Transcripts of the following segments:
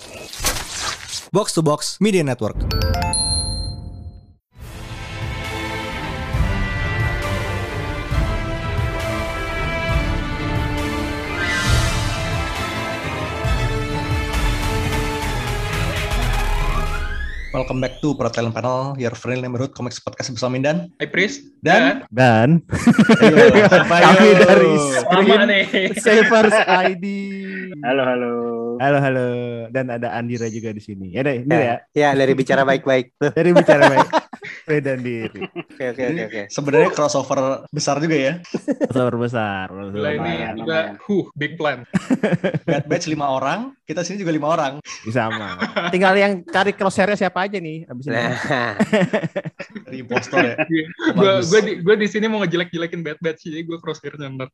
Box to Box Media Network. Welcome back to Pro Talent Panel, your friendly neighborhood comics podcast bersama Mindan. Hai Pris Dan Kami dari Screen Savers ID. Halo. Dan ada Andira juga di sini. Ya deh, ini ya. Ya, dari bicara baik-baik. Dari bicara baik. Dan diri. Oke. Sebenarnya crossover besar juga ya. Besar besar. Gila ini juga big plan. Bad Batch 5 orang, kita sini juga 5 orang. Sama. Tinggal yang cari crosshair-nya siapa aja nih abis ini. Dari impostor ya. Gue di sini mau ngejelek-jelekin Bad Batch, jadi gue crosshair-nya ntar.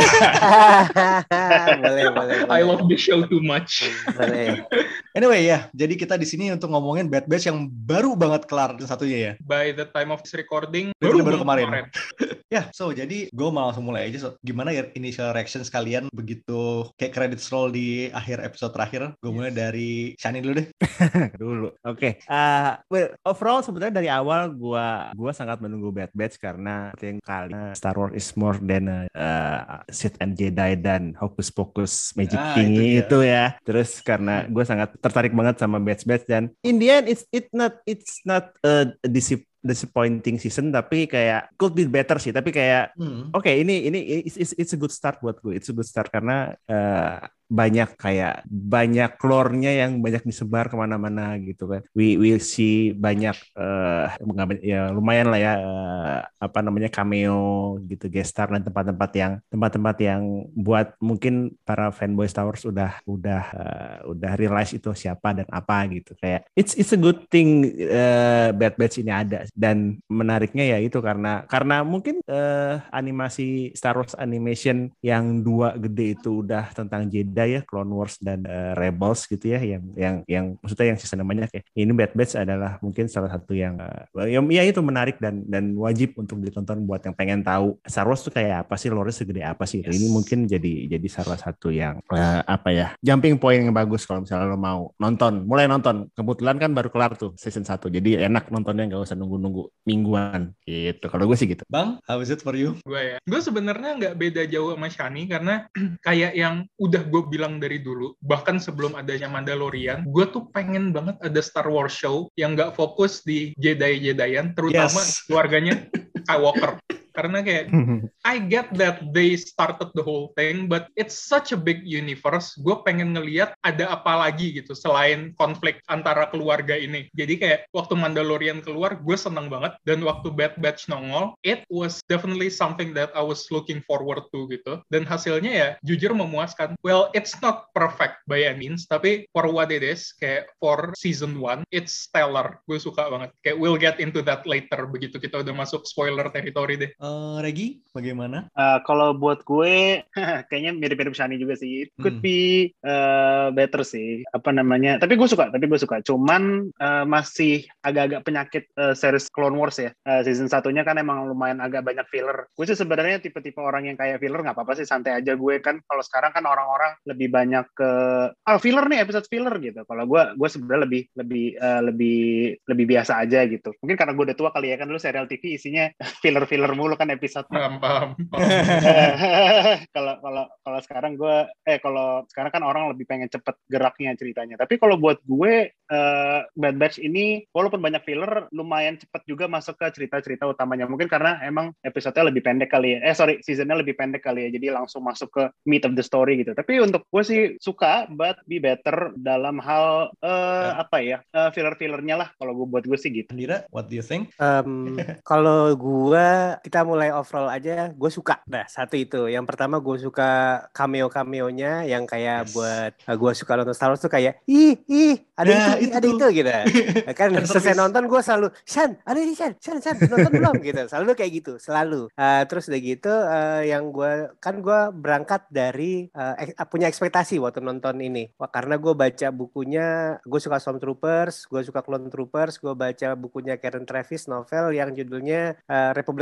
boleh. I love this show too much. Boleh. Anyway ya, jadi kita di sini untuk ngomongin Bad Batch yang baru banget kelar satunya ya. By the time of this recording, Baru kemarin. Ya, so jadi gue mau langsung mulai aja. So, gimana ya initial reaction kalian begitu kayak credits roll di akhir episode terakhir? Gue mulai dari Shani dulu deh. Oke. Well, overall sebenarnya dari awal gua sangat menunggu Bad Batch karena yang kali Star Wars is more than Sith and Jedi dan hocus pocus magic thingy itu ya. Terus karena gue sangat tertarik banget sama Bad Batch dan in the end it's not a disappointing season, tapi kayak could be better sih, tapi kayak oke, ini it's a good start buat gue. It's a good start karena banyak lore-nya yang banyak disebar kemana-mana gitu kan. We will see banyak ya lumayan lah ya cameo gitu, guest star dan tempat-tempat yang buat mungkin para fanboy Star Wars udah realize itu siapa dan apa gitu. Kayak it's a good thing Bad Batch ini ada, dan menariknya ya itu karena mungkin animasi Star Wars animation yang 2 gede itu udah tentang Jedi ya, Clone Wars dan Rebels gitu ya, yang maksudnya yang season namanya kayak ini Bad Batch adalah mungkin salah satu yang ya itu menarik dan wajib untuk ditonton buat yang pengen tahu Star Wars tuh kayak apa sih, lore segede apa sih. Yes. Ini mungkin jadi salah satu yang jumping point yang bagus kalau misalnya lo mau mulai nonton. Kebetulan kan baru kelar tuh season 1, jadi enak nontonnya, nggak usah nunggu mingguan gitu. Kalau gue sih gitu. Bang, how is it for you? Gue sebenarnya nggak beda jauh sama Shani karena kayak yang udah gue bilang dari dulu, bahkan sebelum adanya Mandalorian, gue tuh pengen banget ada Star Wars show yang nggak fokus di Jedi-Jedian, terutama keluarganya Skywalker. Karena kayak I get that they started the whole thing, but it's such a big universe. Gue pengen ngelihat ada apa lagi gitu selain konflik antara keluarga ini. Jadi kayak waktu Mandalorian keluar, gue seneng banget. Dan waktu Bad Batch nongol, it was definitely something that I was looking forward to gitu. Dan hasilnya ya jujur memuaskan. Well, it's not perfect by any means, tapi for what it is, kayak for season 1, it's stellar. Gue suka banget. Kayak we'll get into that later begitu kita udah masuk spoiler territory deh. Regi, bagaimana? Kalau buat gue, kayaknya mirip-mirip Shani juga sih. It could be better sih. Tapi gue suka. Cuman masih agak-agak penyakit series Clone Wars ya. Season 1-nya kan emang lumayan agak banyak filler. Gue sih sebenarnya tipe-tipe orang yang kayak filler, nggak apa-apa sih, santai aja gue kan. Kalau sekarang kan orang-orang lebih banyak ke filler nih, episode filler gitu. Kalau gue sebenarnya lebih biasa aja gitu. Mungkin karena gue udah tua kali ya, kan dulu serial TV isinya filler mulu kan episode. Paham. Kalau sekarang kan orang lebih pengen cepet geraknya ceritanya. Tapi kalau buat gue Bad Batch ini walaupun banyak filler, lumayan cepet juga masuk ke cerita-cerita utamanya. Mungkin karena emang episode-nya lebih pendek kali ya. Season-nya lebih pendek kali ya. Jadi langsung masuk ke meat of the story gitu. Tapi untuk gue sih suka, but be better dalam hal filler-fillernya lah. Kalau buat gue sih gitu. Andira, what do you think? Kalau gue, kita mulai overall aja, gue suka. Nah, satu itu. Yang pertama gue suka cameo-cameonya yang kayak buat gue suka nonton Star Wars tuh kayak ada itu gitu. Kan selesai nonton gue selalu Shan, ada ini Shan nonton belum gitu. Selalu kayak gitu, selalu. Terus udah gitu yang gue berangkat dari punya ekspektasi waktu nonton ini. Karena gue baca bukunya, gue suka Stormtroopers, gue suka Clone Troopers, gue baca bukunya Karen Traviss, novel yang judulnya Republic Commando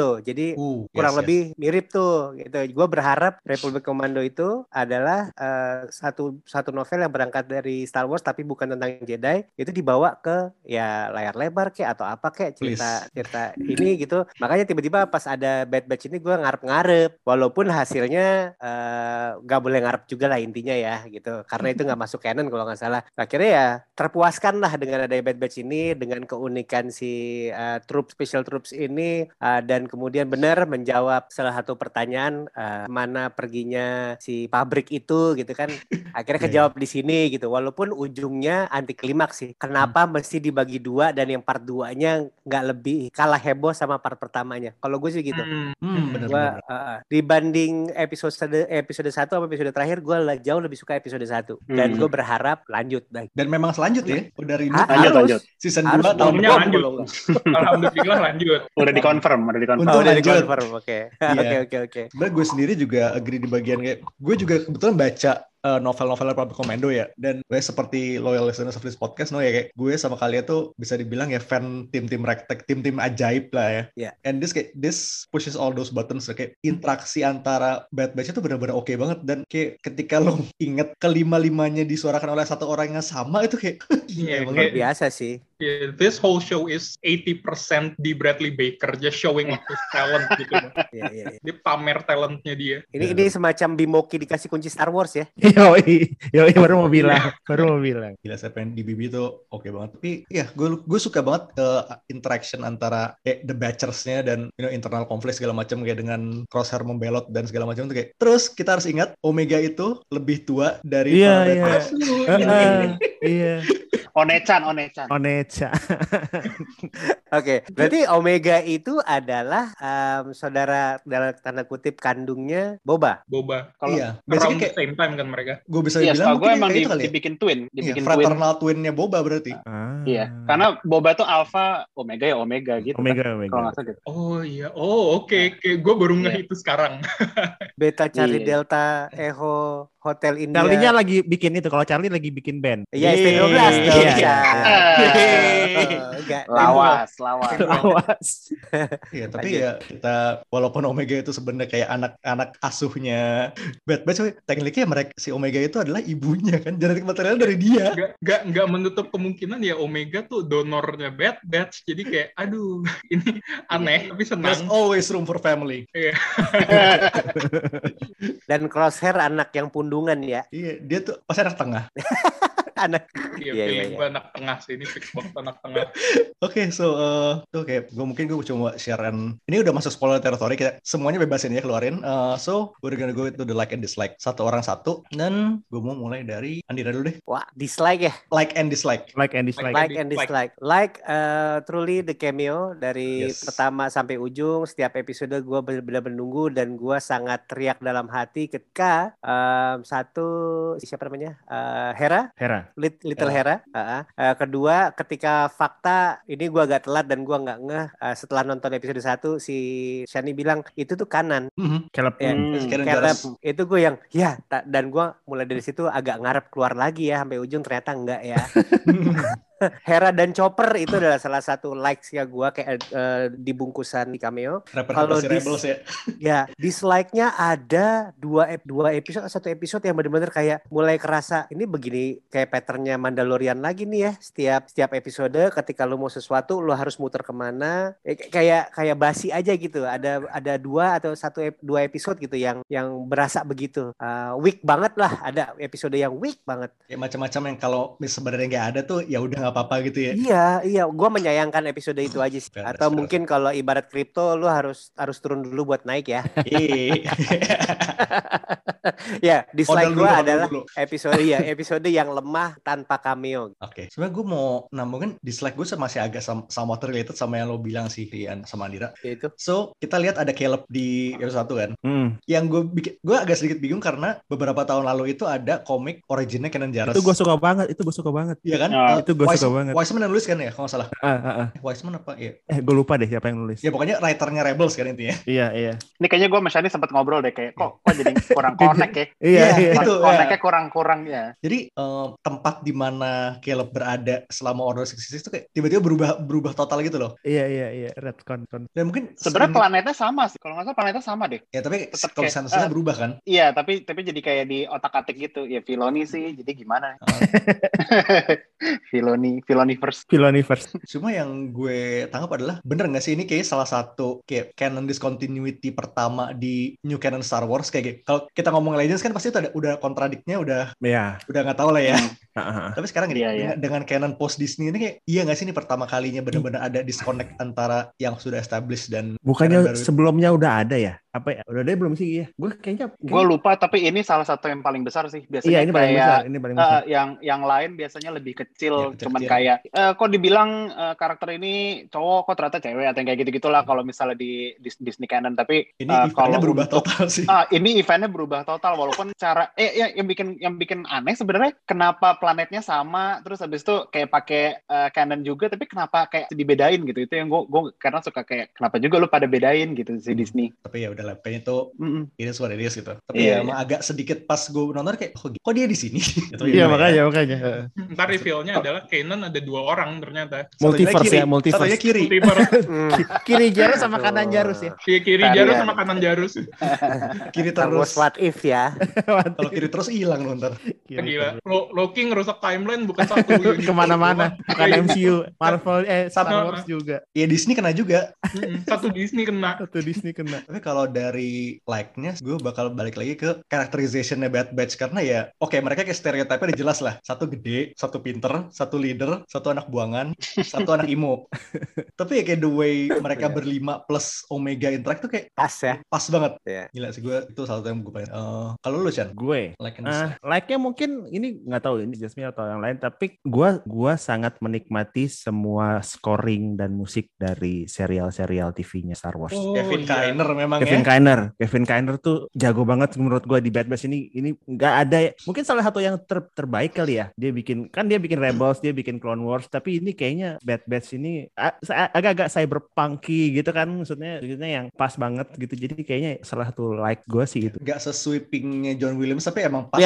Commando. Jadi kurang lebih mirip tuh gitu. Gue berharap Republic Commando itu adalah satu novel yang berangkat dari Star Wars tapi bukan tentang Jedi, itu dibawa ke ya layar lebar kayak atau apa kayak cerita ini gitu. Makanya tiba-tiba pas ada Bad Batch ini gue ngarep-ngarep, walaupun hasilnya nggak boleh ngarep juga lah intinya ya gitu, karena itu nggak masuk canon kalau nggak salah. Akhirnya ya terpuaskan lah dengan ada Bad Batch ini, dengan keunikan si special troops ini, dan kemudian benar menjawab salah satu pertanyaan, mana perginya si pabrik itu gitu kan. Akhirnya kejawab di sini gitu, walaupun ujungnya anti klimaks sih. Kenapa mesti dibagi dua dan yang part 2-nya nggak lebih kalah heboh sama part pertamanya? Kalau gue sih gitu. Gua dibanding episode 1 sama episode terakhir, gue jauh lebih suka episode 1 dan gue berharap lanjut. Dan memang selanjut ya, udah lanjut. Season 2 tahun lanjut. Alhamdulillah lanjut. Udah dikonfirm. Oke. Sebenarnya gue sendiri juga agree di bagian kayak gue juga kebetulan baca novel-novel Republic Commando ya, dan gue seperti loyal listeners of this podcast ya, kayak gue sama kalian tuh bisa dibilang ya fan tim-tim rektek, tim-tim ajaib lah ya. And this pushes all those buttons, kayak interaksi antara Bad Batch itu benar-benar oke banget, dan kayak ketika lo inget kelima-limanya disuarakan oleh satu orang yang sama itu kayak luar biasa sih. Yeah, this whole show is 80% di Bradley Baker, just showing off his talent gitu. Dia pamer talentnya dia. Ini semacam Bimoki dikasih kunci Star Wars ya. Yoi, baru mau bilang. Gila, Serpent di BB itu oke banget. Tapi ya gue suka banget interaction antara The Batchers-nya dan internal konflik segala macam, kayak dengan Crosshair membelot dan segala macam itu kayak. Terus kita harus ingat Omega itu lebih tua dari para Batchers. Iya. Onechan. Oke, berarti Omega itu adalah saudara dalam tanda kutip kandungnya Boba. Iya, around the same time kan mereka. Gue bisa bilang gue emang itu dibikin twin, fraternal twinnya Boba berarti. Iya, karena Boba tuh Alpha, Omega gitu. Omega. Kalau nggak salah gitu. Oh iya, oke. Gue baru ngeh itu sekarang. Beta Charlie Delta Echo Hotel India. Charlie-nya lagi bikin itu, kalau Charlie lagi bikin band. Iya, ST12 tuh. Lawas. Iya, tapi ya kita walaupun Omega itu sebenarnya kayak anak asuhnya Bad Batch, tekniknya mereka si Omega itu adalah ibunya kan, genetik material dari dia. Gak menutup kemungkinan ya Omega tuh donornya Bad Batch, jadi kayak aduh ini aneh tapi senang. There's always room for family. Iya. Dan Crosshair anak yang pundungan ya. Iya, dia tuh pasti anak tengah. Iya. Anak tengah sih, ini fix banget anak tengah. Oke, so gue coba sharean. Ini udah masuk spoiler territory, kita semuanya bebasin ya, keluarin. So we're gonna go to the like and dislike, satu orang satu, dan gue mau mulai dari Andira dulu deh. Wah, dislike ya? Like and dislike. Like, truly the cameo dari pertama sampai ujung, setiap episode gue benar-benar menunggu, dan gue sangat teriak dalam hati ketika siapa namanya? Hera. Little Hera. Kedua, ketika fakta ini gue agak telat dan gue nggak ngeh setelah nonton episode 1, si Shani bilang itu tuh kanan. Caleb. Itu gue yang dan gue mulai dari situ agak ngarep keluar lagi ya sampai ujung, ternyata enggak ya. Hera dan Chopper itu adalah salah satu likes ya gue kayak di bungkusan di cameo. Kalau dislike-nya ada dua episode, satu episode yang benar-benar kayak mulai kerasa ini begini kayak patternnya Mandalorian lagi nih ya, setiap episode ketika lu mau sesuatu lu harus muter kemana, kayak basi aja gitu. Ada dua episode gitu yang berasa begitu weak banget lah, ada episode yang weak banget. Ya macam-macam yang kalau sebenarnya nggak ada tuh ya udah nggak apa-apa gitu ya. Iya, gue menyayangkan episode itu aja sih. Atau mungkin kalau ibarat kripto, lu harus turun dulu buat naik ya. Ya, dislike gue adalah episode yang lemah tanpa cameo. Oke. Sebenarnya gue mau nambungin dislike gue masih agak somewhat related sama yang lo bilang sih, Rian sama Andira. Itu. So kita lihat ada Caleb di episode 1 kan. Yang gue agak sedikit bingung karena beberapa tahun lalu itu ada komik originnya Kanan Jarrus. Itu gue suka banget. Iya kan? Itu gue suka suka banget. Wiseman yang nulis kan ya, kalau nggak salah. Wiseman apa ya? Gue lupa deh siapa yang nulis. Ya pokoknya writernya Rebels kan intinya. Iya. Ini kayaknya gue sama Shani sempat ngobrol deh kayak kok jadi kurang connect ya. Iya. Itu Connect-nya kurang ya. Jadi tempat di mana Caleb berada selama Order 66 itu kayak tiba-tiba berubah total gitu loh. Iya. Redcon. Dan mungkin sebenarnya planetnya sama sih. Kalau nggak salah planetnya sama deh. Ya tapi Tetep kalau kayak, sensusnya berubah kan. Iya, tapi jadi kayak di otak-atik gitu. Ya Filoni sih, jadi gimana? Filoniverse. Cuma yang gue tangkap adalah bener nggak sih ini kayak salah satu kayak canon discontinuity pertama di New Canon Star Wars kayak gitu. Kalau kita ngomong Legends kan pasti itu udah kontradiknya udah nggak tahu lah ya. Tapi sekarang gini, dengan canon post Disney ini kayak iya nggak sih ini pertama kalinya benar-benar ada disconnect antara yang sudah established dan bukannya sebelumnya udah ada ya? Apa ya? Udah ada belum sih? Iya. Gue lupa tapi ini salah satu yang paling besar sih. Biasanya iya, ini paling besar. Yang lain biasanya lebih kecil, cuman kayak kok dibilang karakter ini cowok kok ternyata cewek atau yang kayak gitu-gitulah kalau misalnya di Disney canon. Tapi ini eventnya berubah total sih. Ini eventnya berubah total walaupun cara yang bikin aneh sebenarnya kenapa planetnya sama terus habis itu kayak pakai canon juga tapi kenapa kayak dibedain gitu. Itu yang gue karena suka kayak kenapa juga lu pada bedain gitu si Disney. Tapi ya udah lah, kayaknya itu ini suara dia gitu. Tapi emang agak sedikit pas gue nonton kayak kok dia di sini. Gitu, iya makanya. Ntar reveal-nya adalah Kanan ada 2 orang ternyata. Multiverse. Satunya kiri. Kiri Jarus sama kanan Jarus ya. Kiri Jarus sama kanan Jarus. Kiri terus. What if ya? Kalau kiri terus hilang loh ntar. Gila. Loki ngerusak timeline bukan satu. Kemana-mana. Bukan MCU, Marvel, Star Wars juga. Ya Disney kena juga. Satu Disney kena. Tapi kalau dari like-nya gue bakal balik lagi ke characterization-nya Bad Batch karena ya mereka kayak stereotipnya udah jelas lah. Satu gede, satu pinter, satu leader, satu anak buangan, satu anak imo. Tapi ya kayak the way mereka berlima plus Omega interact tuh kayak pas ya. Pas banget. Yeah. Gila sih gue itu salah satu yang gue pengen. Kalau lu Chan? Gue like-nya mungkin ini nggak tahu ini Jasmine atau yang lain tapi gue sangat menikmati semua scoring dan musik dari serial TV-nya Star Wars. Kevin Kiner memang Kevin Kiner tuh jago banget menurut gue di Bad Batch ini nggak ada mungkin salah satu yang terbaik kali ya. Dia bikin Rebels, dia bikin Clone Wars tapi ini kayaknya Bad Batch ini agak-agak cyberpunky gitu kan maksudnya yang pas banget gitu. Jadi kayaknya salah satu like gue sih itu. Gak sesweepingnya John Williams tapi emang pas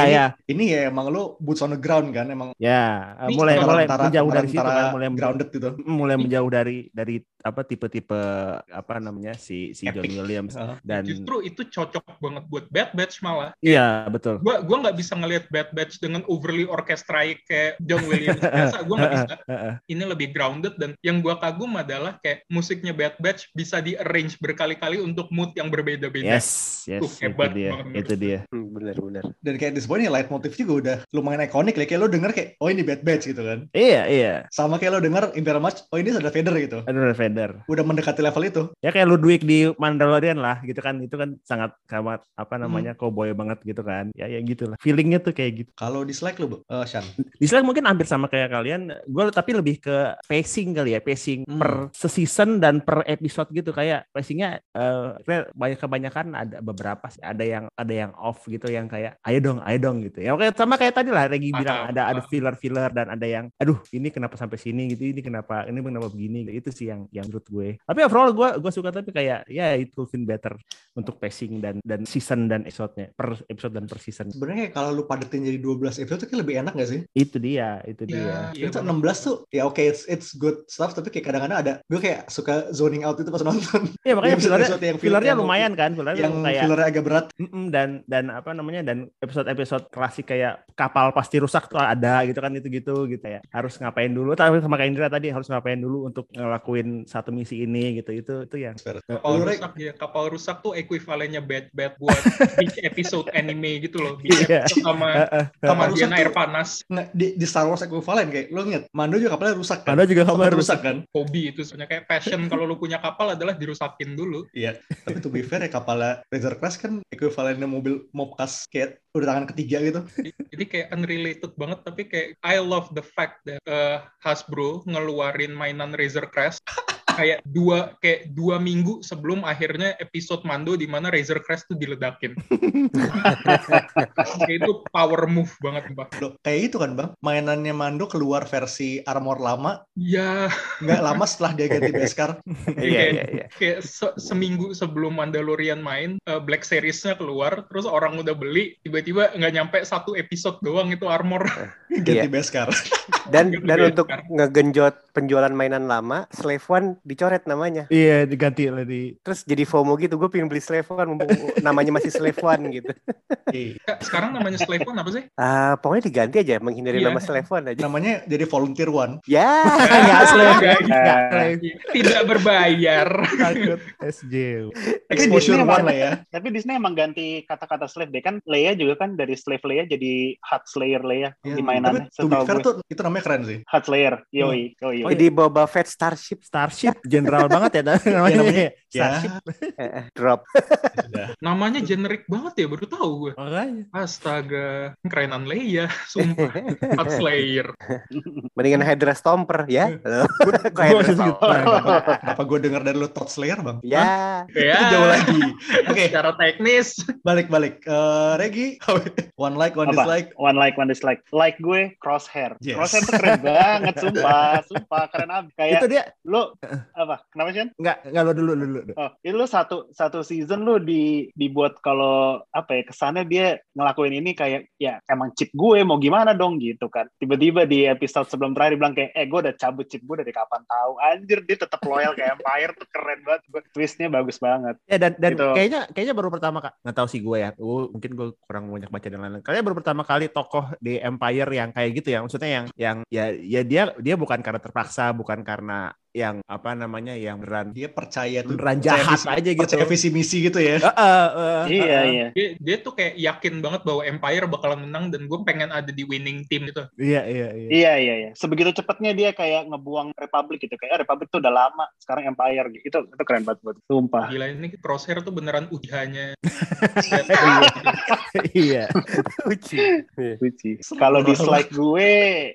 ini ya emang lo boots on the ground kan emang. Ya, mulai menjauh dari situ kan, grounded gitu. Mulai menjauh dari apa tipe-tipe apa namanya si John Williams dan justru itu cocok banget buat Bad Batch malah. Iya, betul. Gua nggak bisa ngelihat Bad Batch dengan overly orchestrate kayak John Williams biasa. Gua nggak bisa. Ini lebih grounded dan yang gua kagum adalah kayak musiknya Bad Batch bisa di-arrange berkali-kali untuk mood yang berbeda-beda. Yes, hebat itu dia. Benar. Dan kayak di sebuah leitmotiv juga udah lumayan ikonik lah. Kayak lo denger kayak ini Bad Batch gitu kan. Iya. Sama kayak lo denger Imperial March, ini ada Vader gitu. Ada Vader. Udah mendekati level itu. Ya kayak Ludwig di Mandalorian lah gitu kan. Itu kan sangat apa namanya cowboy banget gitu kan. Ya gitu lah. Feelingnya tuh kayak gitu. Kalau dislike lo, Shan? Dislike mungkin hampir sama kayak kalian. Gue tapi lebih ke pacing kali ya. Pacing per season dan per episode gitu. Kayak pacingnya kebanyakan ada beberapa sih. Ada yang off gitu yang kayak ayo dong gitu. Ya oke sama kayak tadi lah Regi bilang ada filler dan ada yang aduh ini kenapa sampai sini gitu. Ini kenapa begini gitu. Itu sih yang menurut gue. Tapi overall gue suka tapi kayak ya itu been better untuk pacing dan season dan episode-nya per episode dan per season. Sebenarnya kalau lu padetin jadi 12 episode kayak lebih enak gak sih? Itu dia. Itu 16 tuh ya oke it's good stuff tapi kayak kadang-kadang ada gue kayak suka zoning out itu pas nonton. Iya makanya fillernya lumayan kan, yang fillernya agak berat. Dan apa namanya dan episode klasik kayak kapal pasti rusak tuh ada gitu kan itu ya. Harus ngapain dulu tapi sama kayak Indra tadi harus ngapain dulu untuk ngelakuin satu misi ini gitu itu yang kapal rusak tuh ekuivalennya Bad buat beach episode anime gitu loh. Beach episode sama Diana air panas. Nah, di Star Wars ekuivalen kayak lo inget Mando juga kapalnya rusak kan? Mando juga kapalnya rusak kan? Hobi itu sebenarnya kayak passion kalau lu punya kapal adalah dirusakin dulu. Iya, tapi to be fair ya kapalnya Razor Crest kan ekuivalennya mobil mobcas kayak udah tangan ketiga gitu. Jadi kayak unrelated banget tapi kayak I love the fact that Hasbro ngeluarin mainan Razor Crest kayak dua minggu sebelum akhirnya episode Mando di mana Razor Crest tuh diledakin. Kayak itu power move banget, Bang. Loh, kayak itu kan Bang, mainannya Mando keluar versi armor lama, Iya. nggak lama setelah dia ganti Beskar. Iya. Kayak seminggu sebelum Mandalorian main, Black Series-nya keluar, terus orang udah beli, tiba-tiba nggak nyampe 1 episode doang itu armor. Ganti Beskar. Dan untuk ngegenjot penjualan mainan lama, Slave One dicoret namanya. Iya, diganti lagi. Terus jadi FOMO gitu, gue pengen beli Slave One, mumpung namanya masih Slave One gitu. Sekarang namanya Slave One apa sih? Pokoknya diganti aja, menghindari nama Slave One aja. Namanya jadi Volunteer One. Ya, Nggak Slave. Tidak berbayar. Takut SJ. Exposure One lah ya. Tapi Disney emang ganti kata-kata slave deh kan. Leia juga kan dari slave Leia jadi Hutt Slayer Leia di mainannya. Tapi to be fair tuh itu namanya keren sih. Hutt Slayer. Yoi. Jadi Boba Fett Starship General banget ya namanya. Ya. drop. Namanya generik banget ya, baru tahu gue. Makanya. Astaga, kerenan Leia, sumpah. Hutt Slayer. Mendingan Hydra Stomper ya. Apa gue dengar dari lu Thought Slayer Bang? Ya. Itu jauh lagi. Oke. Secara teknis. Balik. Regi, one like, one dislike. One like, one dislike. Like gue Crosshair. Yes. Crosshair tuh keren banget, sumpah keren abis. Kayak Itu dia. lu apa? Kenapa sih? Enggak lo dulu. Oh, itu lu satu season lu dibuat kalau apa ya, kesannya dia ngelakuin ini kayak ya emang cheat gue mau gimana dong gitu kan. Tiba-tiba di episode sebelum terakhir bilang kayak gue udah cabut cheat gue dari kapan tahu. Anjir, dia tetap loyal ke Empire tuh keren banget. Twistnya bagus banget. Ya dan gitu. kayaknya baru pertama kali, nggak tahu sih gue ya. Mungkin gue kurang banyak baca dan lain-lain. Kayaknya baru pertama kali tokoh di Empire yang kayak gitu ya. Maksudnya yang dia bukan karena terpaksa, bukan karena yang apa namanya yang dia percaya tuh beneran jahat aja gitu, percaya visi misi gitu ya. Iya. Dia tuh kayak yakin banget bahwa Empire bakalan menang dan gue pengen ada di winning team gitu. Iya. Sebegitu cepatnya dia kayak ngebuang Republic gitu, kayak Republic tuh udah lama, sekarang Empire gitu. Itu keren banget buat sumpah. Gila, ini Crosshair tuh beneran ujiannya. Iya. Uji. Kalau dislike gue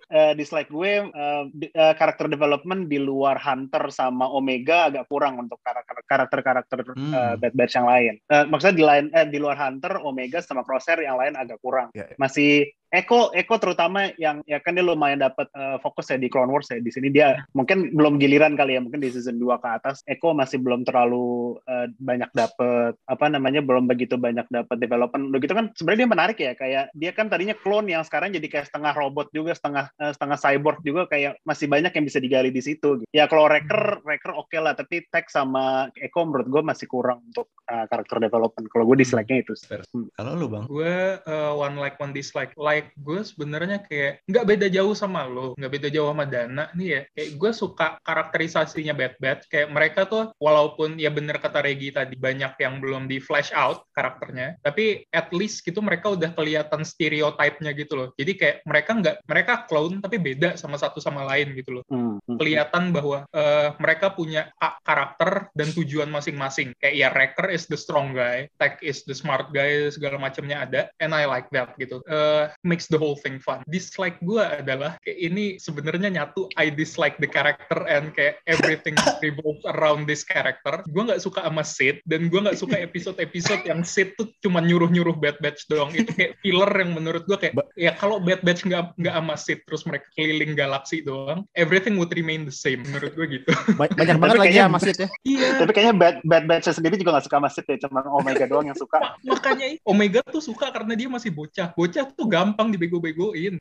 karakter development di luar Hunter sama Omega agak kurang untuk karakter Bad Batch yang lain. Maksudnya di luar Hunter, Omega sama Crosshair yang lain agak kurang. Masih Echo terutama yang ya kan dia lumayan dapat fokus ya di Clone Wars ya. Di sini dia mungkin belum giliran kali ya, mungkin di season 2 ke atas Echo masih belum terlalu banyak dapat belum begitu banyak dapat development. Udah gitu kan sebenarnya dia menarik ya, kayak dia kan tadinya clone yang sekarang jadi kayak setengah robot juga, setengah cyborg juga, kayak masih banyak yang bisa digali di situ. Ya kalau Wrecker oke lah, tapi Tech sama Echo menurut gue masih kurang untuk karakter development. Kalau gue dislike-nya itu. Kalau lu Bang? Gue one like one dislike. Like gue sebenarnya kayak nggak beda jauh sama lo, nggak beda jauh sama Dana nih ya. Kayak gue suka karakterisasinya Bad Batch. Kayak mereka tuh walaupun ya bener kata Regi tadi banyak yang belum di flash out karakternya, tapi at least gitu mereka udah kelihatan stereotype-nya gitu loh. Jadi kayak mereka clone tapi beda sama satu sama lain gitu loh. Kelihatan bahwa mereka punya karakter dan tujuan masing-masing. Kayak ya Wrecker is the strong guy, Tech is the smart guy, segala macamnya ada, and I like that gitu. Makes the whole thing fun. Dislike gue adalah kayak ini sebenarnya nyatu. I dislike the character and kayak everything revolves around this character. Gue nggak suka sama Sid, dan gue nggak suka episode-episode yang Sid tuh cuma nyuruh Bad Batch doang. Itu kayak filler yang menurut gue kayak ya kalau Bad Batch nggak sama Sid terus mereka keliling galaksi doang, everything would remain the same menurut gue gitu. Banyak banget lagi ya Sid ya. Iya. Tapi kayaknya Bad Batch sendiri juga nggak suka sama Sid ya, cuma Omega doang yang suka. Makanya Omega tuh suka karena dia masih bocah. Bocah tuh gampang dibego-begoin.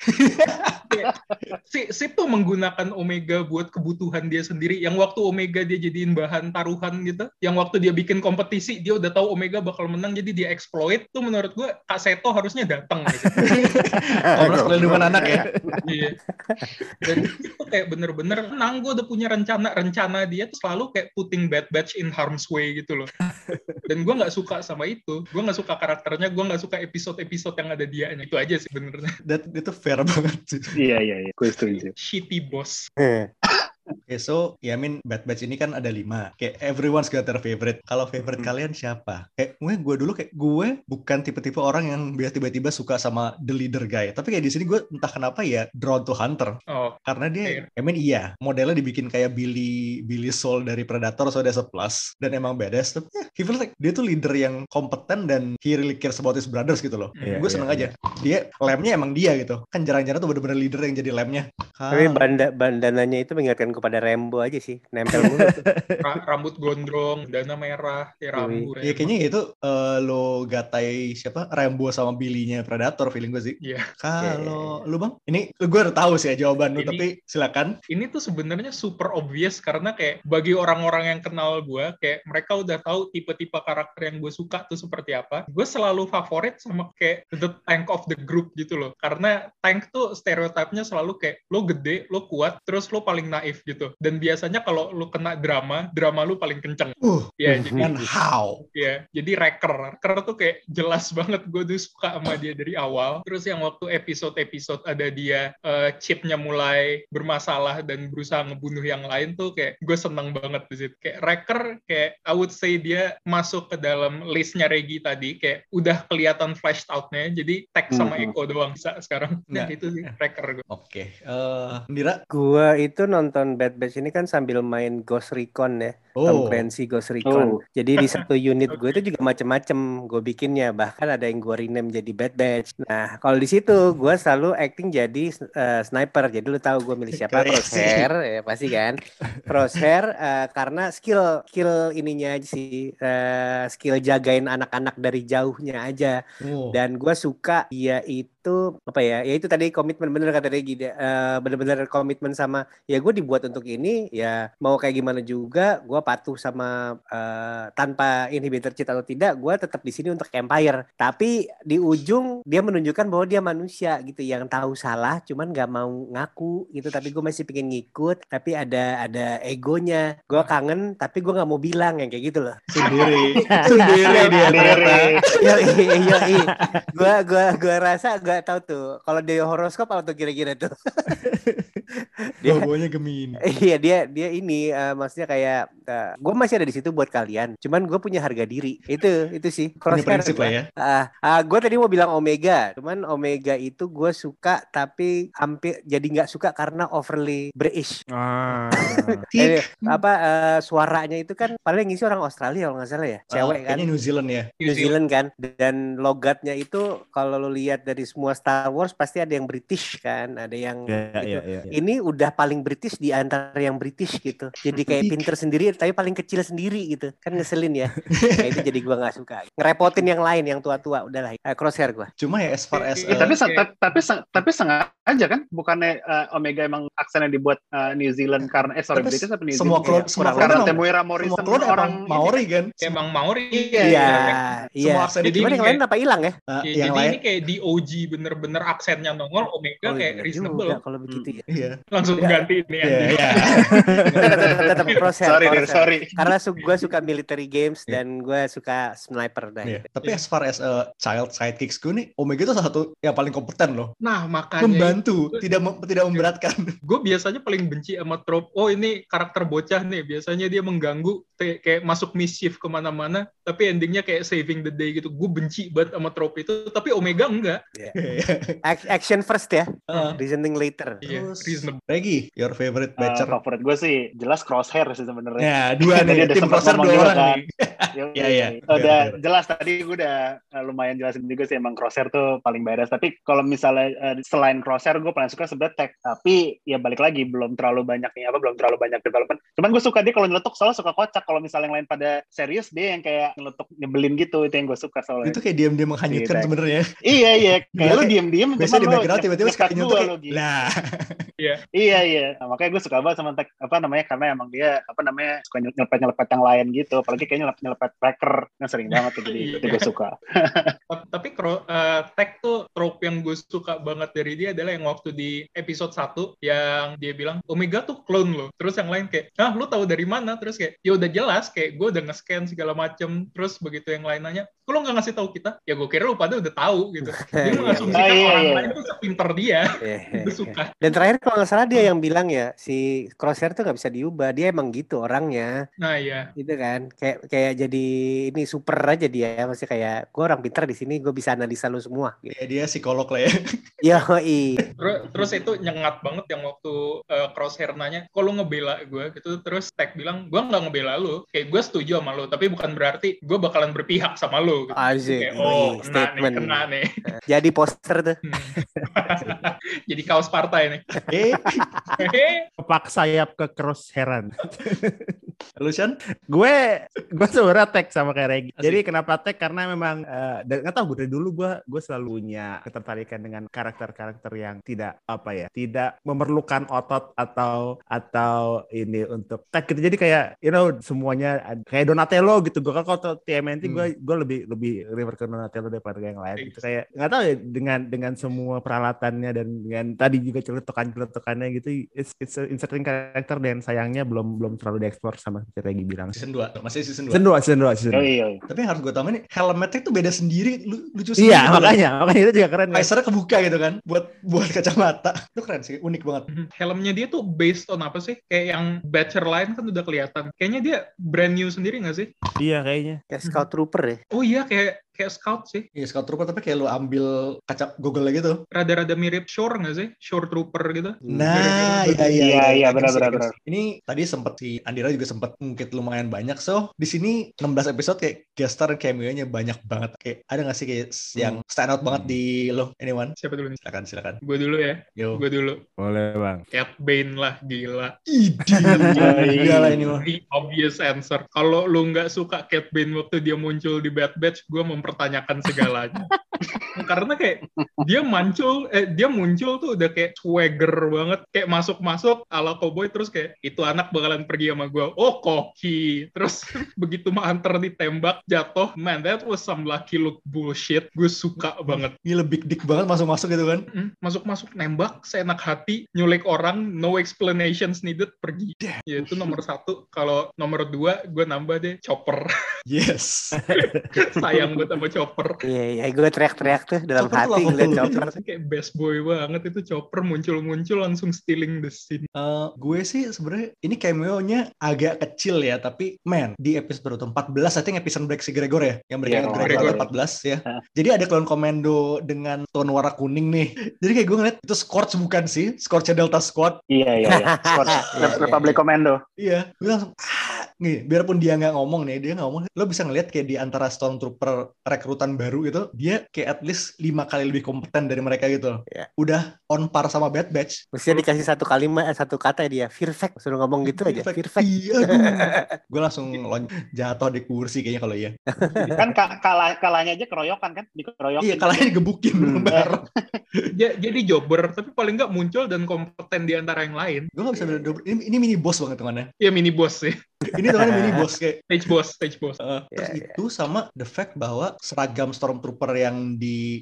Sid tuh menggunakan Omega buat kebutuhan dia sendiri. Yang waktu Omega dia jadiin bahan taruhan gitu, yang waktu dia bikin kompetisi dia udah tahu Omega bakal menang, jadi dia exploit. Tuh menurut gue Kak Seto harusnya datang gitu. Komnas Perlindungan Anak ya. Iya. Dan itu kayak bener-bener menang. Gue udah punya rencana dia tuh selalu kayak putting Bad Batch in harm's way gitu loh. Dan gue nggak suka sama itu. Gue nggak suka karakternya, gue nggak suka episode-episode yang ada dianya. Itu aja sih benernya. Itu fair banget sih. Iya, gue setuju. Shitty boss. Okay, so I mean Bad Batch ini kan ada 5. Kayak everyone's got their favorite. Kalau favorite kalian siapa? Kayak gue dulu kayak gue bukan tipe-tipe orang yang biasa tiba-tiba suka sama the leader guy. Tapi kayak di sini gue entah kenapa ya drawn to Hunter. Karena dia iya, modelnya dibikin kayak Billy Soul dari Predator, so that's a plus. Dan emang badass. Tapi he feels like dia tuh leader yang kompeten dan he really cares about his brothers gitu loh. Gue seneng aja. Dia lemnya emang dia gitu. Kan jarang-jarang tuh bener-bener leader yang jadi lemnya. Tapi bandananya itu mengingatkan kepada Rambo aja sih, nempel mulu. Rambut gondrong, dana merah, Rambo. Iya kayaknya itu lo gatai siapa Rambo sama Billy-nya Predator feeling gue sih. Iya. Kalau lu Bang, ini gue udah tahu sih ya jawaban lu, tapi silakan. Ini tuh sebenarnya super obvious karena kayak bagi orang-orang yang kenal gue, kayak mereka udah tahu tipe-tipe karakter yang gue suka tuh seperti apa. Gue selalu favorit sama kayak the tank of the group gitu loh. Karena tank tuh stereotipnya selalu kayak lo gede, lo kuat, terus lo paling naif gitu. Dan biasanya kalau lo kena drama lo paling kenceng. Ya, jadi jadi Wrecker tuh kayak jelas banget gue tuh suka sama dia dari awal. Terus yang waktu episode ada dia chipnya mulai bermasalah dan berusaha ngebunuh yang lain tuh kayak gue seneng banget di situ. Kayak Wrecker kayak I would say dia masuk ke dalam listnya Regi tadi, kayak udah kelihatan fleshed out-nya. Jadi Tech sama Echo doang bisa sekarang. Nah, itu sih Wrecker gue. Oke. Nira? Gua itu nonton Bad Batch ini kan sambil main Ghost Recon ya. Tom Clancy Ghost Recon. Jadi di satu unit gue itu juga macem-macem gue bikinnya. Bahkan ada yang gue rename jadi Bad Batch. Nah, kalau di situ gue selalu acting jadi sniper. Jadi lu tahu gue milih siapa? Crosshair, ya pasti kan. Crosshair karena skill ininya aja sih. Skill jagain anak-anak dari jauhnya aja. Dan gue suka dia itu apa ya? Ya itu tadi komitmen, bener kata Regi. Bener-bener komitmen sama ya gue dibuat untuk ini. Ya mau kayak gimana juga gue patuh sama tanpa inhibitor cheat atau tidak, gue tetap di sini untuk Empire. Tapi di ujung dia menunjukkan bahwa dia manusia gitu yang tahu salah, cuman nggak mau ngaku gitu. Tapi gue masih pengen ngikut, tapi ada egonya. Gue kangen, tapi gue nggak mau bilang yang kayak gitu loh. Sendiri dia. Gue rasa gue tahu tuh. Kalau dia horoskop apa tuh kira-kira tuh? Bobonya Gemini. Iya dia ini maksudnya kayak gue masih ada di situ buat kalian. Cuman gue punya harga diri. Itu sih. Crosshair lah ya. Gue tadi mau bilang Omega. Cuman Omega itu gue suka tapi hampir jadi nggak suka karena overly British. Suaranya itu kan paling ngisi orang Australia kalau nggak salah ya. Cewek kan. Kayaknya New Zealand ya. New Zealand kan. Dan logatnya itu kalau lo lihat dari semua Star Wars pasti ada yang British kan. Ada yang Ini udah paling British di antara yang British gitu. Jadi kayak pinter sendiri tapi paling kecil sendiri gitu. Kan ngeselin ya. Kayak itu jadi gue gak suka. Ngerepotin yang lain, yang tua-tua. Udahlah, Crosshair gue. Cuma ya as far as tapi sengaja kan? Bukannya Omega emang aksennya dibuat New Zealand karena British apa New Zealand? Semua karena Temuera Morrison orang Maori kan? Emang Maori. Iya. Semua aksennya. Cuman yang lain apa hilang ya? Yang lain ini kayak di OG bener-bener aksennya nongol, Omega kayak reasonable. Kalau begitu ya. Iya. Langsung ganti ini. Tetap Crosshair. Sorry. Karena gue suka military games dan gue suka sniper. Tapi as far as child sidekicks gue nih, Omega itu salah satu yang paling kompeten loh. Nah makanya membantu, tidak memberatkan. Gue biasanya paling benci sama trope. Oh ini karakter bocah nih. Biasanya dia mengganggu, kayak masuk mischief kemana-mana. Tapi endingnya kayak saving the day gitu. Gue benci banget sama trope itu. Tapi Omega enggak. Action first ya. Reasoning later. Regi, your favorite batcher? Favorit gue sih jelas Crosshair sih sebenarnya. Ya, dua nih. Tim Crosshair 2 orang nih. Iya. Udah jelas tadi gue udah lumayan jelasin juga sih emang Crosshair tuh paling badass. Tapi kalau misalnya selain Crosshair gue paling suka sebenarnya Tech. Tapi ya balik lagi belum terlalu banyak development. Cuman gue suka dia kalau nyeletuk soalnya suka kocak. Kalau misalnya yang lain pada serius dia yang kayak nyeletuk nyebelin gitu, itu yang gue suka soalnya. Itu kayak diam-diam menghanyutkan sebenarnya. Iya. Kayak lu diam-diam biasanya di background tiba-tiba sekali nyetuk lah. Iya. Nah, makanya gue suka banget sama Tech karena emang dia suka nyelepet yang lain gitu. Apalagi kayaknya nyelepet Wrecker yang sering banget jadi itu gue suka. Tapi Tech tuh trope yang gue suka banget dari dia adalah yang waktu di episode 1 yang dia bilang Omega tuh clone loh. Terus yang lain kayak, lu tahu dari mana? Terus kayak, ya udah jelas kayak gue udah nge-scan segala macem. Terus begitu yang lain nanya, kok lo nggak ngasih tahu kita? Ya gue kira lu pada udah tahu gitu. Dia mengasumsikan orang lain tuh sepinter dia. Gue suka. Dan terakhir kalau nggak salah Malah dia yang bilang ya, si Crosshair tuh nggak bisa diubah. Dia emang gitu orangnya. Nah iya. Gitu kan. Kayak jadi ini super aja dia. Masih kayak gue orang pintar di sini, gue bisa analisa lu semua. Gitu. Ya dia psikolog lah ya. Yoi. Terus itu nyengat banget yang waktu Crosshair nanya, kok lu ngebela gue gitu. Terus Tag bilang, gue nggak ngebela lu. Kayak gue setuju sama lu, tapi bukan berarti gue bakalan berpihak sama lu. Gitu. Asik. Kayak, kena nih. Jadi poster tuh. Jadi kaos partai nih. Kepak sayap ke Crosshairan. Lu Shan? gue sebenarnya tag sama kayak Regi. Jadi kenapa tag? Karena memang nggak tahu, gue dari dulu gue selalu punya ketertarikan dengan karakter-karakter yang tidak tidak memerlukan otot atau ini untuk tag gitu. Jadi kayak semuanya kayak Donatello gitu. Gue kalau TMNT gue lebih refer ke Donatello daripada yang lain gitu. Kayak nggak tahu ya, dengan semua peralatannya dan dengan tadi juga celetukannya gitu, it's interesting karakter, dan sayangnya belum terlalu dieksplor sama seperti Regi bilang. Season 2, masih season 2. Season 2. Tapi yang harus gue tambahin nih, helmetnya itu beda sendiri, lucu sendiri. Iya, makanya itu juga keren. Visornya kebuka gitu kan, buat kacamata. Itu keren sih, unik banget. Helmnya dia tuh based on apa sih? Kayak yang Batcher lain kan udah kelihatan. Kayaknya dia brand new sendiri nggak sih? Iya kayaknya. Kayak Scout Trooper ya. Oh iya, kayak Scout sih. Iya, Scout Trooper, tapi kayak lu ambil kaca Google gitu. Rada-rada mirip Shore nggak sih? Shore Trooper gitu. Nah, iya benar. Ini tadi sempat si Andira juga sempat ngungkit lumayan banyak. So, di sini 16 episode kayak guest star cameo-nya banyak banget. Kayak ada nggak sih kayak yang stand out banget di lo, anyone? Siapa dulu nih? Silakan. Gue dulu ya. Yo. Gue dulu. Boleh bang. Cat Bane lah, gila. Gila ini mah. The obvious answer. Kalau lu nggak suka Cat Bane waktu dia muncul di Bad Batch, gue mempertanyakan segalanya. Karena kayak dia muncul tuh udah kayak swagger banget, kayak masuk ala cowboy, terus kayak itu anak bakalan pergi sama gue. Oh, koki. Terus begitu Hunter ditembak jatuh, man, that was some lucky look bullshit. Gue suka banget. Gila big dick banget masuk gitu kan. Masuk nembak seenak hati, nyulik orang, no explanations needed, pergi. Ya itu nomor 1. Kalau nomor 2 gue nambah deh Chopper. Yes. Sayang gue sama Chopper. Iya, gue teriak-teriak tuh dalam Chopper hati ngeliat Chopper. Kayak best boy banget itu Chopper, muncul langsung stealing the scene. Gue sih sebenarnya ini cameo-nya agak kecil ya, tapi man, di episode 14 I think episode Break si Gregor ya, yang mereka Gregor 14 ya. Jadi ada klon komando dengan tone warna kuning nih. Jadi kayak gue ngeliat itu Scorch bukan sih? Scorch Delta Squad. Iya. Scorch Republic Commando. Iya, gue langsung nih, biarpun dia nggak ngomong, lo bisa ngeliat kayak di antara Stormtrooper rekrutan baru itu, dia kayak at least 5 kali lebih kompeten dari mereka gitu. Yeah. Udah on par sama Bad Batch. Mestinya dikasih satu kata dia, fear fact. Suruh ngomong gitu aja, fear fact. Iya, gue langsung jatuh di kursi kayaknya kalau iya. Kan kalahnya aja keroyokan kan? Dikeroyokin. Iya, kalahnya digebukin bareng. Jadi jobber, tapi paling nggak muncul dan kompeten di antara yang lain. Gue nggak bisa beda. Ini mini boss banget temannya. Iya, mini boss sih. Ini temannya mini boss kayak stage boss. Terus itu sama the fact bahwa seragam Stormtrooper yang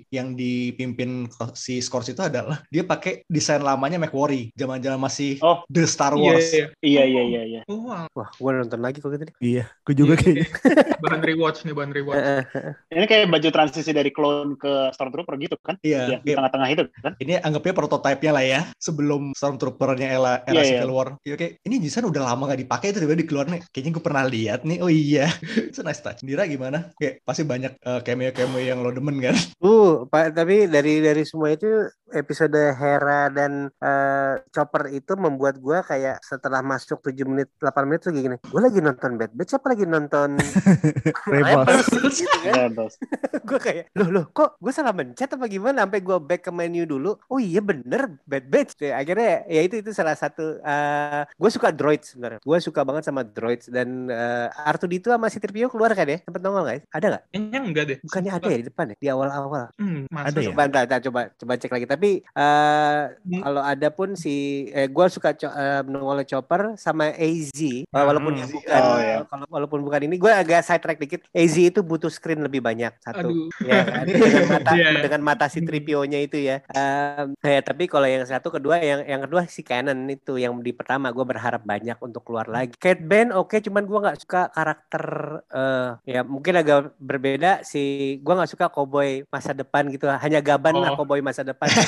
dipimpin si Scorch itu adalah dia pakai desain lamanya McQuarrie, zaman-zaman masih The Star Wars. Iya. Oh, wow. Wah, gue nonton lagi kok gitu. Iya, gue juga kayaknya. Bahan rewatch. Ini kayak baju transisi dari clone ke Stormtrooper gitu kan? Iya. Di tengah-tengah itu kan? Ini anggapnya prototipe-nya lah ya, sebelum Stormtrooper-nya era Civil War. Iya, kayak ini desain udah lama gak dipakai, itu tiba-tiba dikeluarin nih. Kayaknya gue pernah lihat nih. Oh iya. It's a nice touch. Dira gimana? Kayak pasti banyak cameo-cameo yang lo demen kan? Tapi dari semua itu episode Hera dan Chopper itu membuat gue kayak setelah masuk 7 menit 8 menit tuh gini, gue lagi nonton Bad Batch apa lagi nonton Rebels gitu kan. Gue kayak loh kok gue salah mencet apa gimana, sampai gue back ke menu dulu. Oh iya bener Bad Batch. Akhirnya ya itu salah satu gue suka droids sebenarnya. Gue suka banget sama droids, dan R2D2 sama C-3PO keluar kan ya? Sempet nongol guys? Ada nggak? Kayaknya enggak deh. Bukannya ada ya di depan ya? Di awal-awal. Ada ya? Coba cek lagi. Tapi kalau ada pun gue suka nongol Chopper sama AZ. Walaupun bukan. Walaupun bukan ini, gue agak side track dikit. AZ itu butuh screen lebih banyak satu. Ya kan? Dengan mata C-3PO-nya itu ya. Tapi kalau yang satu kedua, yang kedua si Canon itu, yang di pertama gue berharap banyak untuk keluar lagi. Cat Bane oke, cuman gue nggak suka karakter ya mungkin agak berbeda sih. Gue nggak suka cowboy masa depan gitu, hanya gaban lah cowboy masa depan.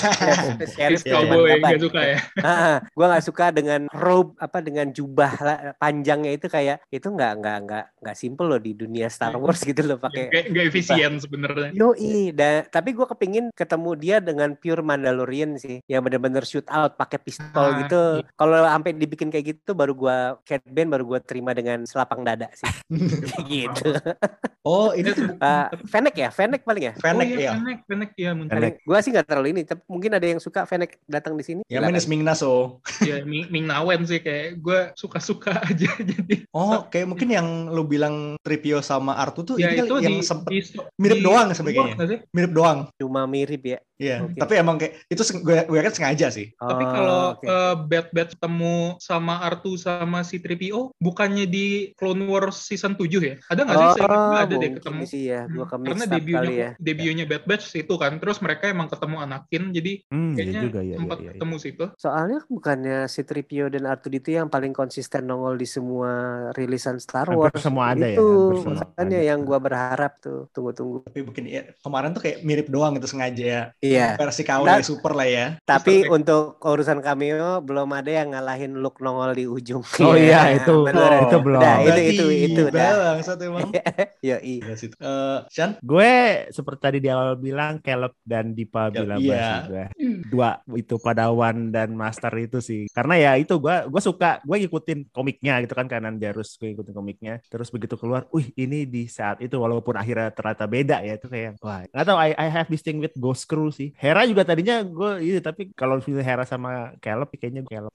Sheriff Cowboy cuman gaban. nggak suka ya. Gue nggak suka dengan robe dengan jubah panjangnya itu, kayak itu nggak simple loh di dunia Star Wars gitu loh pakai. Kayak nggak efisien sebenarnya. Yoi, tapi gue kepingin ketemu dia dengan pure Mandalorian sih, yang bener-bener shoot out pakai pistol gitu. Iya. Kalau sampai dibikin kayak gitu, baru gue Cat Bane baru gue terima dengan selapang dada sih. Gitu. Oh, ini Fennec paling ya. Fennec ya. Fennec ya mungkin. Gue sih nggak terlalu ini, tapi mungkin ada yang suka Fennec datang di sini. Ya minus Ming-Na Ya Ming Nawen sih, kayak gue suka-suka aja jadi. Oh, kayak mungkin yang lu bilang Tripio sama Artu tuh Ya ini itu yang sempet mirip doang sebagainya. Mirip doang. Cuma mirip ya. Iya, tapi emang kayak itu gue kan sengaja sih. Tapi kalau Bad Batch ketemu sama Artu sama si 3PO, bukannya di Clone Wars season 7 ya? Ada nggak sih? Saya ingat nggak ada deh ketemu. Sih ya, karena debutnya Bad Batch itu kan, terus mereka emang ketemu Anakin, jadi kayaknya sempat ketemu situ. Soalnya bukannya si 3PO dan R2D2 yang paling konsisten nongol di semua rilisan Star Wars. Hampir semua ada itu, ya. makanya yang gue berharap tuh. Tunggu. Tapi mungkin ya, kemarin tuh kayak mirip doang gitu sengaja ya. Iya. Versi KW super lah ya. Tapi untuk urusan cameo belum ada yang ngalahin Luke nongol di ujung. Oh iya, itu belum. Nah, itu Bang, satu emang. Yoi. Sean? Gue seperti tadi di awal bilang Caleb dan Dipa bilang juga. Dua itu Padawan dan Master itu sih. Karena ya itu gue suka, gue ngikutin komiknya gitu kan, Kanan Jarrus, gue ngikutin komiknya. Terus begitu keluar, ini di saat itu walaupun akhirnya ternyata beda ya, itu kayak wah. Nggak tahu, I have this thing with Ghost Crew sih. Hera juga tadinya gue tapi kalau pilih Hera sama Caleb kayaknya Caleb.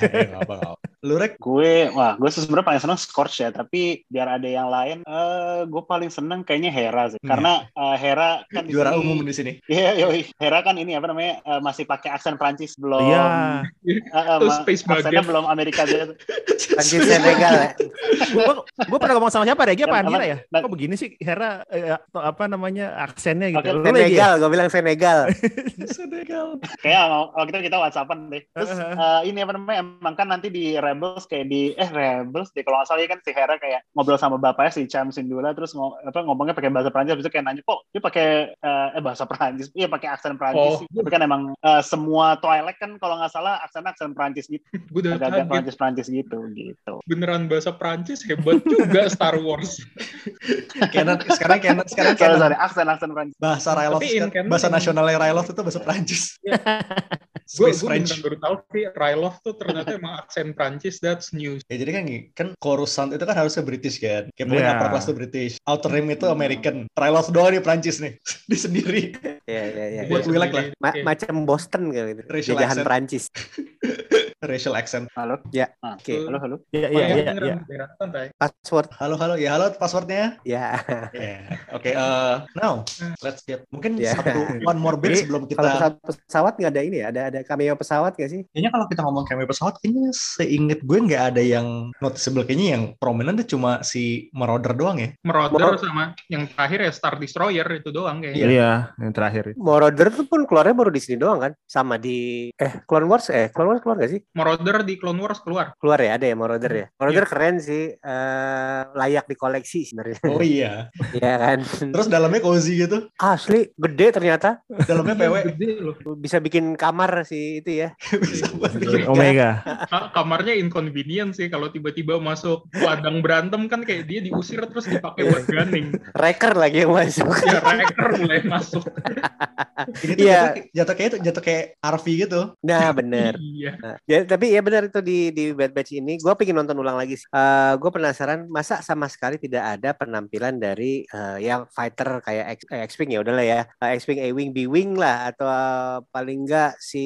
Lu Rek? Gue sebenarnya paling seneng Scorch ya, tapi biar ada yang lain, gue paling seneng kayaknya Hera sih. Karena Hera kan juara umum di sini. Iya, Hera kan ini masih pakai aksen Prancis, belum. Iya. Aksennya belum Amerika gitu. Prancis Senegal ya. Gue pernah ngomong sama siapa deh? Dia apa Anira ya? Kok begini sih Hera aksennya gitu. Senegal, gue bilang Senegal. Kayak waktu itu kita WhatsAppan deh. Terus ini emang kan nanti di Rebels kayak di Rebels deh kalau nggak salah ya kan, si Hera kayak ngobrol sama bapaknya si Cham Syndulla, terus ngomongnya pakai bahasa Prancis, habis itu kayak nanya kok dia pakai bahasa Prancis, iya pakai aksen Prancis. Tapi kan emang semua Twilight kan kalau nggak salah aksen Prancis gitu, agak Prancis gitu. Beneran bahasa Prancis, hebat juga Star Wars. Sekarang aksen Prancis. Bahasa Ryloth, bahasa nasionalnya Ryloth itu bahasa Prancis. Gue beneran baru tahu sih Ryloth tuh ternyata emang aksen Prancis. That's news. Ya jadi kan Coruscant itu kan harusnya British kan. Kayak pokoknya upper class itu British. Outer Rim itu American. Ryloth doang di Prancis nih. Di sendiri. Iya. Buat Willac lah. Macam Boston gitu. Jajahan Prancis. Racial accent. Halo? Ya. Oke. Halo. Iya. Password. Halo. Ya halo, passwordnya. Ya. Oke. Now let's get mungkin one more bit sebelum kita. Kalau pesawat nggak ada ini ya? Ada cameo pesawat nggak sih? Kayaknya kalau kita ngomong cameo pesawat, kayaknya seinget gue nggak ada yang noticeable. Kayaknya yang prominent itu cuma si Marauder doang ya. Marauder sama yang terakhir ya Star Destroyer itu doang kayaknya. Iya, yang terakhir. Marauder itu pun keluarnya baru di sini doang kan? Sama di Clone Wars keluar nggak sih? Marauder di Clone Wars keluar ya, ada ya Marauder ya. Marauder keren sih, layak dikoleksi sebenarnya. Oh iya. Iya kan. Terus dalamnya cozy gitu. Asli gede ternyata. Dalamnya PW. Gede loh. Bisa bikin kamar sih itu ya. Bisa buat bikin Omega. Kamarnya inconvenient sih kalau tiba-tiba masuk ladang berantem kan, kayak dia diusir terus dipakai buat gunning. Wrecker lagi yang masuk. Ya Wrecker mulai masuk. Ini tuh jatuh kayak RV gitu. Nah bener. Iya. Ya, tapi ya benar itu di Bad Batch ini gue pengen nonton ulang lagi. Gue penasaran masa sama sekali tidak ada penampilan dari yang fighter kayak X-Wing, ya udahlah ya, X-Wing, A-Wing, B-Wing lah, atau paling enggak si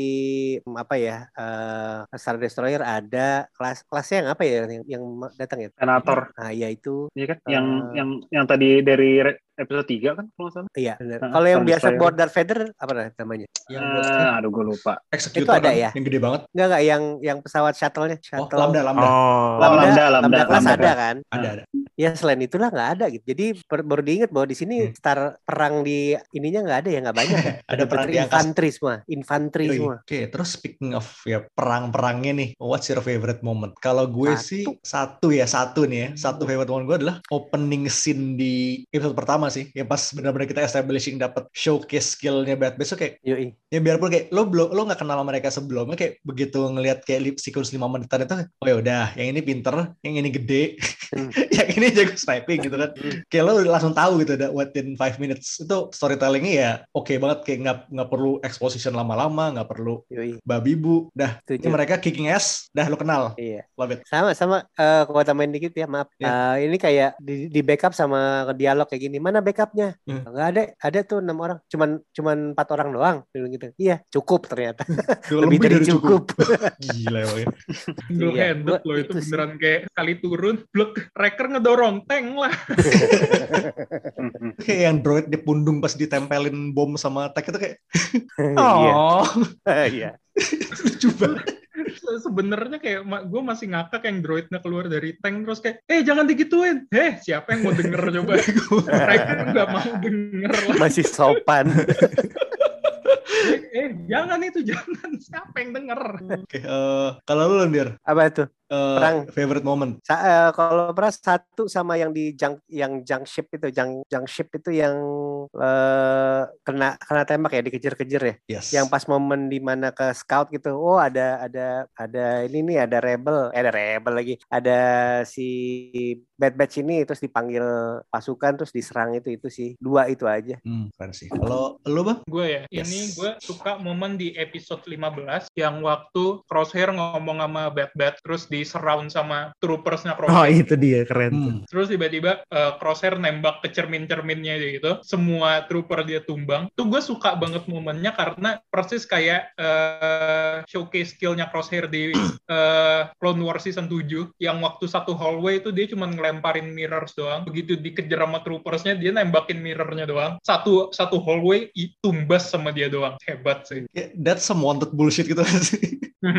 Star Destroyer ada kelasnya yang apa ya yang datang ya? Senator. Nah ya itu. Iya kan yang tadi dari episode 3 kan kalau nggak salah. Iya benar. Kalau yang biasa buat Darth Vader apa namanya? Aduh gue lupa. Executor itu ada kan, ya? Yang gede banget. Enggak yang pesawat shuttle-nya. Lambda. Lambda kelas ada kan? Ada. Ya selain itulah nggak ada gitu. Jadi baru diingat bahwa di sini star perang di ininya nggak ada ya, nggak banyak ya. Ada perang di angkasa. Infanteri semua. Oke, terus speaking of ya perang-perangnya nih, what's your favorite moment? Kalau gue sih satu nih ya. Satu favorite moment gue adalah opening scene di episode pertama sih. Ya pas benar-benar kita establishing dapat showcase skillnya Bad Batch tuh kayak ya biarpun kayak lo nggak kenal sama mereka sebelumnya, kayak begitu ngelihat kayak sequence 5 menitan itu, oh ya udah yang ini pinter, yang ini gede, yang ini jago sniping gitu kan. Kayak lo langsung tahu gitu within 5 minutes. Itu storytellingnya ya oke banget, kayak nggak perlu exposition lama-lama, nggak perlu babi bu, dah ini mereka kicking ass, dah lo kenal. Iya. Love it. Sama kalau tambahin dikit ya, maaf. Ini kayak di backup sama dialog kayak gini. Mana backupnya? Nggak ada tuh 6 orang. Cuman 4 orang doang. Gitu. Iya, cukup ternyata. Lebih dari cukup. Gila ya. Single handed loh itu beneran kayak kali turun, blok Wrecker ngedorong tank lah. Kayak yang droid di pundung pas ditempelin bom sama tank itu kayak iya. Lucu banget. Sebenarnya kayak gue masih ngakak yang droidnya keluar dari tank terus kayak jangan digituin. Siapa yang mau denger coba? Wrecker nggak mau denger lah. Masih sopan. Jangan siapa yang denger? Oke, kalau lu Landir apa itu perang favorite moment? Kalau perang satu sama yang di junk ship itu yang kena tembak ya, dikejar-kejar ya. Yes. Yang pas momen di mana ke scout gitu, ada ini nih, ada rebel lagi, ada si Bad Batch ini, terus dipanggil pasukan terus diserang, itu sih 2 itu aja. Keren sih. Kalau lu Bang? Gue ya, ini gue suka momen di episode 15 yang waktu Crosshair ngomong sama Bad Batch terus di surround sama troopersnya Crosshair. Oh itu dia, keren. Terus tiba-tiba Crosshair nembak ke cermin-cerminnya gitu, semua trooper dia tumbang. Tuh gue suka banget momennya karena persis kayak showcase skillnya Crosshair di Clone Wars season 7 yang waktu satu hallway itu dia cuma ngelemparin mirrors doang. Begitu dikejar sama troopersnya dia nembakin mirrornya doang. Satu hallway tumbas sama dia doang. Hebat sih. That's some wanted bullshit gitu sih.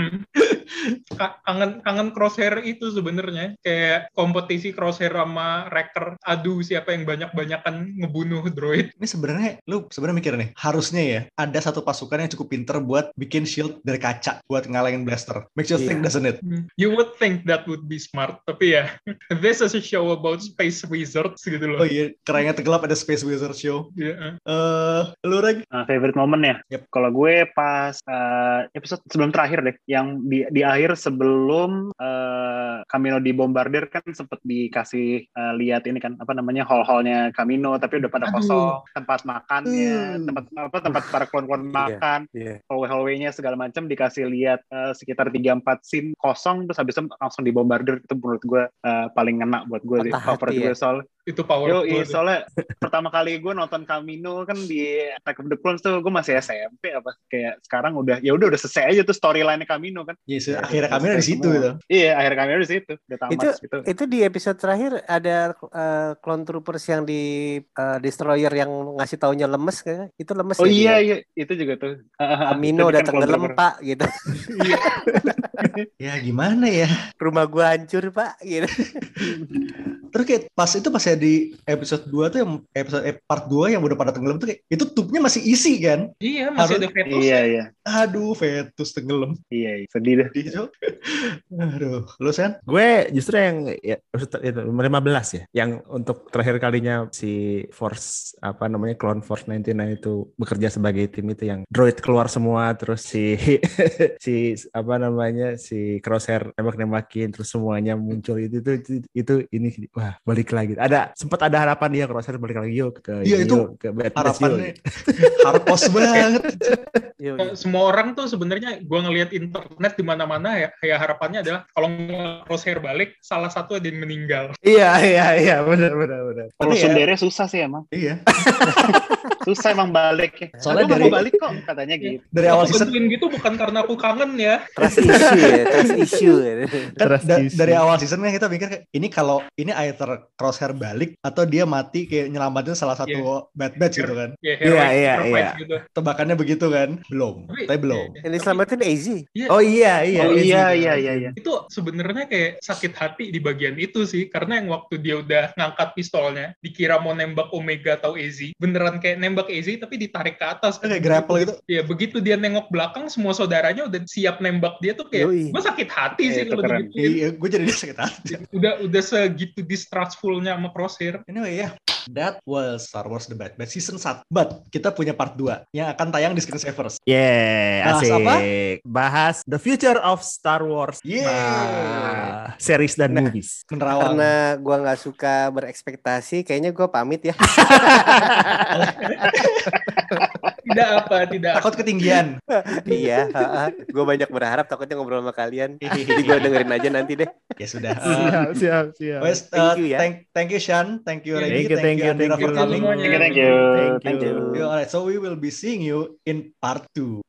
Kangen Crosshair itu sebenarnya, kayak kompetisi Crosshair sama Wrecker, adu siapa yang banyak-banyakan ngebunuh droid. Ini sebenarnya lu mikir nih, harusnya ya ada satu pasukan yang cukup pinter buat bikin shield dari kaca buat ngalangin blaster. Makes you think, doesn't it? You would think that would be smart, tapi ya this is a show about space wizards gitu loh. Oh iya, kerennya tenggelam ada space wizard show. Lu Reg? Favorite moment ya? Yep. Kalau gue pas episode sebelum terakhir deh, yang di akhir sebelum Kamino dibombardir kan sempet dikasih lihat ini kan, apa namanya, hall-hallnya Kamino, tapi udah pada kosong, tempat makannya, tempat para klon-klon makan, hallway-nya segala macam dikasih lihat sekitar 3-4 scene kosong, terus habis itu langsung dibombardir. Itu menurut gue paling ngena buat gue sih, favorit gue soal itu powerful. Soalnya pertama kali gue nonton Kamino kan di Attack of the Clones tuh gue masih SMP kayak sekarang udah selesai aja tuh storyline Kamino kan. Yes, akhirnya Kamino di situ gitu. Iya, akhirnya Kamino di situ. Udah tamat gitu. Itu di episode terakhir ada clone troopers yang di destroyer yang ngasih taunya lemes kan? Itu lemes. Oh iya, itu juga tuh. Kamino udah tenggelam Pak gitu. Ya gimana ya? Rumah gua hancur Pak gitu. Terus kayak pas ya di episode 2 tuh, yang episode part 2 yang udah pada tenggelam tuh kayak itu tubnya masih isi kan? Iya, masih ada fetus. Iya. Aduh, fetus tenggelam. Iya, sedih deh. Aduh, lu Sen? Gue justru yang episode 15 ya, yang untuk terakhir kalinya si Force Clone Force 99 itu bekerja sebagai tim itu, yang droid keluar semua, terus si Crosshair nembak-nembakin, terus semuanya muncul itu ini wah, balik lagi. Sempat ada harapan dia Crosshair balik lagi ke Bad Batch. Harapannya harpos banget. Semua orang tuh sebenarnya gue ngelihat internet di mana-mana ya harapannya adalah kalau Crosshair balik salah satu ada yang meninggal. Iya benar. Kalau sundere susah sih emang. Iya. Susah emang baliknya. Soalnya Aku nggak dari- mau balik kok katanya gitu. Dari awal Aku season bantuin gitu bukan karena aku kangen ya. Trust issue ya, trust issue. kan Trust issue. dari awal season kan kita mikir kayak, ini kalau ini either Crosshair balik atau dia mati kayak nyelamatin salah satu bad batch gitu kan. Ya, heroic Iya, sacrifice iya. gitu. Tebakannya begitu kan? Belum. Tapi belum. Iya. Yang diselamatin AZ. Iya, Oh iya. Oh iya. iya. itu sebenarnya kayak sakit hati di bagian itu sih, karena yang waktu dia udah ngangkat pistolnya dikira mau nembak Omega atau AZ, beneran kayak nembak AZ tapi ditarik ke atas Kayak grapple gitu. ya, begitu dia nengok belakang semua saudaranya udah siap nembak dia tuh kayak Yoi. gue sakit hati sih Itu kalau keren. digituin. Iya, gue jadi sakit hati. Udah segitu distrustfulnya sama Crosshair. Anyway ya, that was Star Wars The Bad Batch Season 1. But kita punya part 2 yang akan tayang di Screensavers. Yeah, Bahas asik. apa? Bahas the future of Star Wars. Series dan movies. Menerawang. Karena gua nggak suka berekspektasi, kayaknya gua pamit ya. Tidak. Takut ketinggian. Iya, gue banyak berharap takutnya ngobrol sama kalian. Jadi gue dengerin aja nanti deh. Ya sudah. Siap. Wes, Thank you ya. Thank you Sean, thank you Reggie, Thank you, Andira thank for you. coming. semuanya. Thank you. Thank you. Alright, so we will be seeing you in part 2.